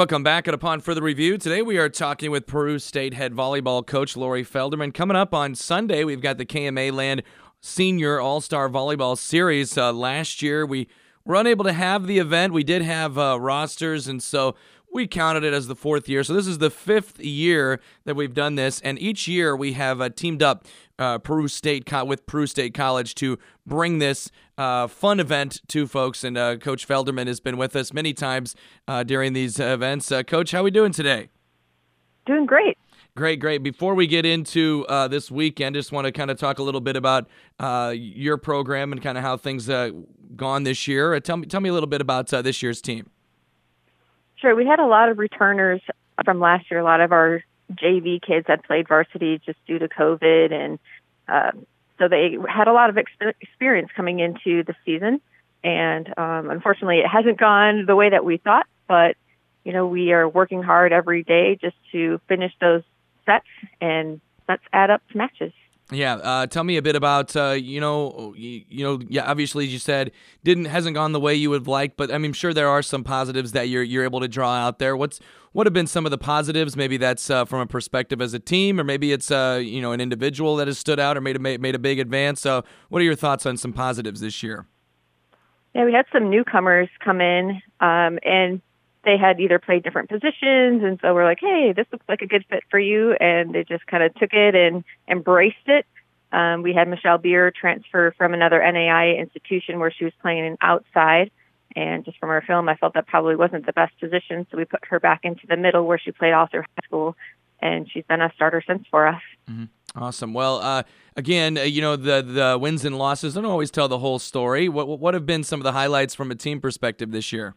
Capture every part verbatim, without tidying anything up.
Welcome back, and upon further review, today we are talking with Peru State head volleyball coach Lori Felderman. Coming up on Sunday, we've got the K M A Land Senior All-Star Volleyball Series. Uh, last year, we were unable to have the event. We did have uh, rosters, and so we counted it as the fourth year. So this is the fifth year that we've done this, and each year we have uh, teamed up uh, Peru State Co- with Peru State College to bring this uh, fun event to folks. And uh, Coach Felderman has been with us many times uh, during these events. Uh, Coach, how are we doing today? Doing great. Great, great. Before we get into uh, this weekend, just want to kind of talk a little bit about uh, your program and kind of how things uh, gone this year. Uh, tell me, tell me a little bit about uh, this year's team. Sure. We had a lot of returners from last year. A lot of our J V kids had played varsity just due to COVID, and uh, so they had a lot of exp- experience coming into the season. And um, unfortunately, it hasn't gone the way that we thought. But you know, we are working hard every day just to finish those sets, and let's add up to matches. Yeah, uh, tell me a bit about uh, you know, you, you know, yeah. Obviously, as you said, didn't hasn't gone the way you would have liked, but I mean, I'm sure there are some positives that you're you're able to draw out there. What's what have been some of the positives? Maybe that's uh, from a perspective as a team, or maybe it's uh, you know, an individual that has stood out or made a made a big advance. So, what are your thoughts on some positives this year? Yeah, we had some newcomers come in, um, and they had either played different positions, and so we're like, hey, this looks like a good fit for you, and they just kind of took it and embraced it. Um, we had Michelle Beer transfer from another N A I A institution where she was playing outside, and just from her film, I felt that probably wasn't the best position, so we put her back into the middle where she played all through high school, and she's been a starter since for us. Mm-hmm. Awesome. Well, uh, again, uh, you know, the the wins and losses don't always tell the whole story. What what have been some of the highlights from a team perspective this year?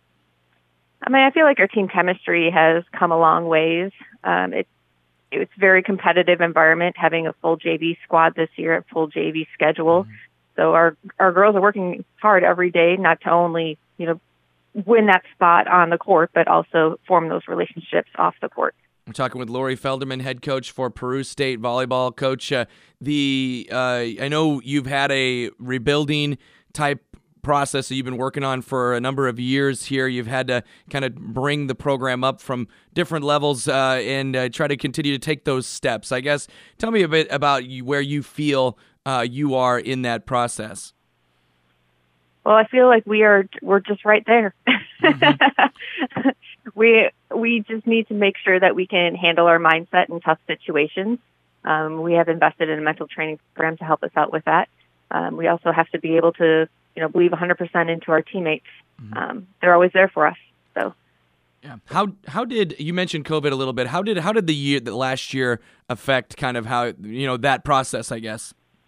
I mean, I feel like our team chemistry has come a long ways. Um, it, it's a very competitive environment, having a full J V squad this year, a full J V schedule. Mm-hmm. So our our girls are working hard every day, not to only, you know, win that spot on the court, but also form those relationships off the court. I'm talking with Lori Felderman, head coach for Peru State volleyball. Coach, uh, the uh, I know you've had a rebuilding type process that you've been working on for a number of years here. You've had to kind of bring the program up from different levels uh, and uh, try to continue to take those steps. I guess tell me a bit about you, where you feel uh, you are in that process. Well, I feel like we are we're just right there. Mm-hmm. we we just need to make sure that we can handle our mindset in tough situations. Um, we have invested in a mental training program to help us out with that. Um, we also have to be able to, you know, believe one hundred percent into our teammates. Mm-hmm. Um, they're always there for us. So, yeah. How how did you mentioned COVID a little bit? How did how did the year the last year affect kind of how, you know, that process, I guess?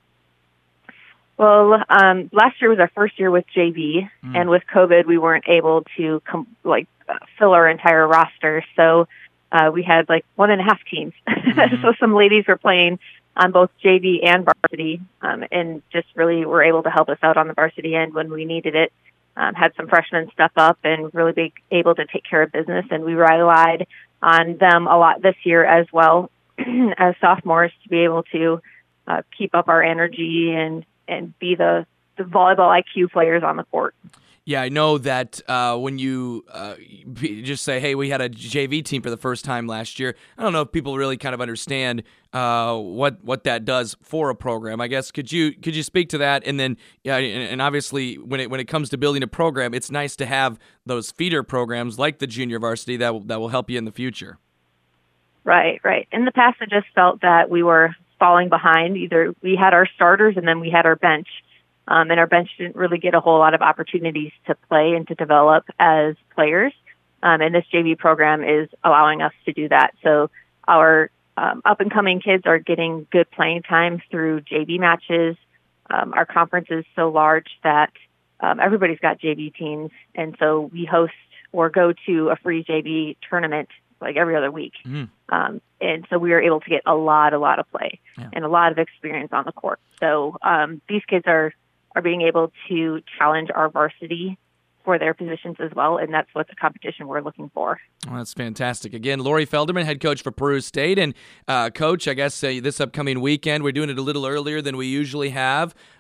Well, um, last year was our first year with J V, mm. and with COVID, we weren't able to com- like uh, fill our entire roster. So uh, we had like one and a half teams. Mm-hmm. So some ladies were playing on both J V and varsity, um, and just really were able to help us out on the varsity end when we needed it. Um, had some freshmen step up and really be able to take care of business, and we relied on them a lot this year as well as sophomores to be able to uh, keep up our energy and, and be the, the volleyball I Q players on the court. Yeah, I know that uh, when you uh, just say, hey, we had a J V team for the first time last year, I don't know if people really kind of understand uh, what what that does for a program. I guess could you could you speak to that? And then, yeah, and, and obviously when it when it comes to building a program, it's nice to have those feeder programs like the junior varsity that will, that will help you in the future. Right, right. In the past, I just felt that we were falling behind. Either we had our starters and then we had our bench. Um, and our bench didn't really get a whole lot of opportunities to play and to develop as players. Um, and this J V program is allowing us to do that. So our um, up-and-coming kids are getting good playing time through J V matches. Um, our conference is so large that um, everybody's got J V teams. And so we host or go to a free J V tournament like every other week. Mm-hmm. Um, and so we are able to get a lot, a lot of play yeah. and a lot of experience on the court. So um, these kids are are being able to challenge our varsity for their positions as well, and that's what the competition we're looking for. Well, that's fantastic. Again, Lori Felderman, head coach for Peru State, and uh, coach, I guess uh, this upcoming weekend, we're doing it a little earlier than we usually have.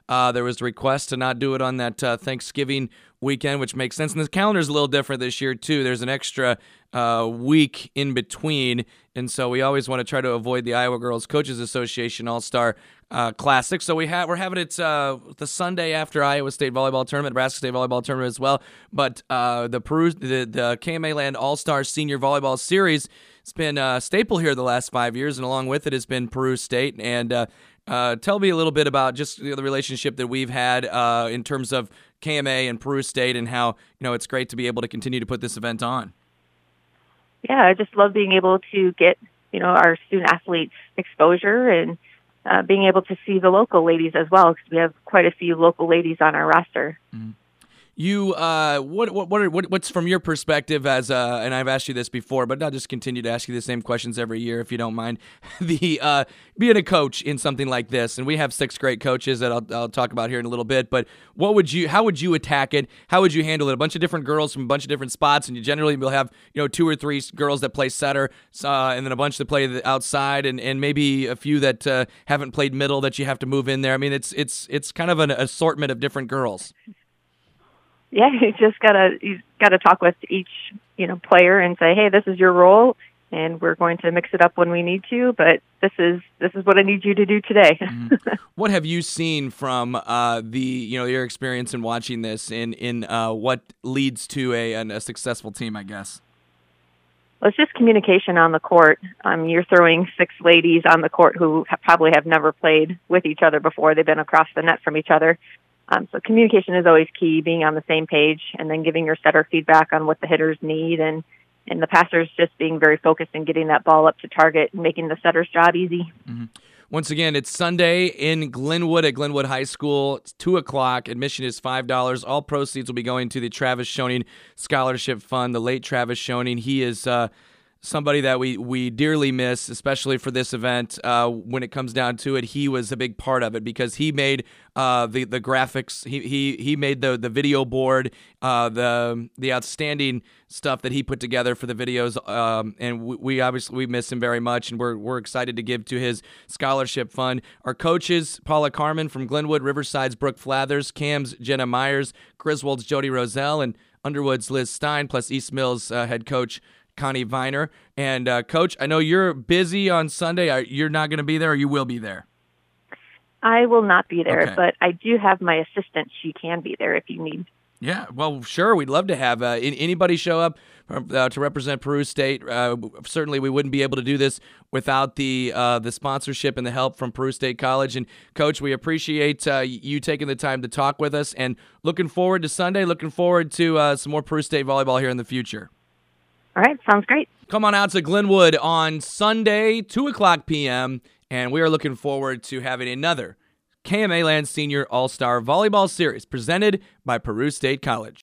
Uh, there was a request to not do it on that uh, Thanksgiving weekend, which makes sense. And the calendar's a little different this year, too. There's an extra uh, week in between, and so we always want to try to avoid the Iowa Girls Coaches Association All-Star uh, Classic. So we ha- we're having it uh, the Sunday after Iowa State Volleyball Tournament, Nebraska State Volleyball Tournament as well. But uh, the Peru, the, the K M A Land All-Star Senior Volleyball Series, it's been a staple here the last five years, and along with it has been Peru State. And uh, uh, tell me a little bit about just you know, the relationship that we've had uh, in terms of K M A and Peru State, and how you know it's great to be able to continue to put this event on. Yeah, I just love being able to get you know our student athletes exposure and uh, being able to see the local ladies as well, because we have quite a few local ladies on our roster. Mm-hmm. You, uh, what, what, what, are, what, what's from your perspective as, uh, and I've asked you this before, but I'll just continue to ask you the same questions every year if you don't mind. the uh, being a coach in something like this, and we have six great coaches that I'll, I'll talk about here in a little bit. But what would you, how would you attack it? How would you handle it? A bunch of different girls from a bunch of different spots, and you generally will have you know two or three girls that play setter, uh, and then a bunch that play the outside, and, and maybe a few that uh, haven't played middle that you have to move in there. I mean, it's it's it's kind of an assortment of different girls. Yeah, you just gotta you gotta talk with each you know player and say, hey, this is your role, and we're going to mix it up when we need to. But this is this is what I need you to do today. Mm-hmm. What have you seen from uh, the you know your experience in watching this in in uh, what leads to a a successful team? I guess. Well, it's just communication on the court. Um, you're throwing six ladies on the court who ha- probably have never played with each other before. They've been across the net from each other. Um, so communication is always key, being on the same page, and then giving your setter feedback on what the hitters need, and, and the passers just being very focused and getting that ball up to target and making the setter's job easy. Mm-hmm. Once again, it's Sunday in Glenwood at Glenwood High School. It's two o'clock. Admission is five dollars. All proceeds will be going to the Travis Schoening Scholarship Fund, the late Travis Schoening. He is uh, somebody that we, we dearly miss, especially for this event. Uh, when it comes down to it, he was a big part of it because he made uh, the the graphics. He he he made the the video board, uh, the the outstanding stuff that he put together for the videos. Um, and we, we obviously we miss him very much, and we're we're excited to give to his scholarship fund. Our coaches: Paula Carmen from Glenwood, Riverside's Brooke Flathers, Cam's Jenna Myers, Griswold's Jody Roselle, and Underwood's Liz Stein, plus East Mills uh, head coach Connie Viner. And uh, Coach, I know you're busy on Sunday. You're not going to be there, or you will be there? I will not be there, okay. But I do have my assistant. She can be there if you need. Yeah, well, sure. We'd love to have uh, anybody show up uh, to represent Peru State. Uh, certainly, we wouldn't be able to do this without the uh, the sponsorship and the help from Peru State College. And, Coach, we appreciate uh, you taking the time to talk with us, and looking forward to Sunday, looking forward to uh, some more Peru State volleyball here in the future. All right, sounds great. Come on out to Glenwood on Sunday, two o'clock p.m., and we are looking forward to having another K M A Land Senior All-Star Volleyball Series presented by Peru State College.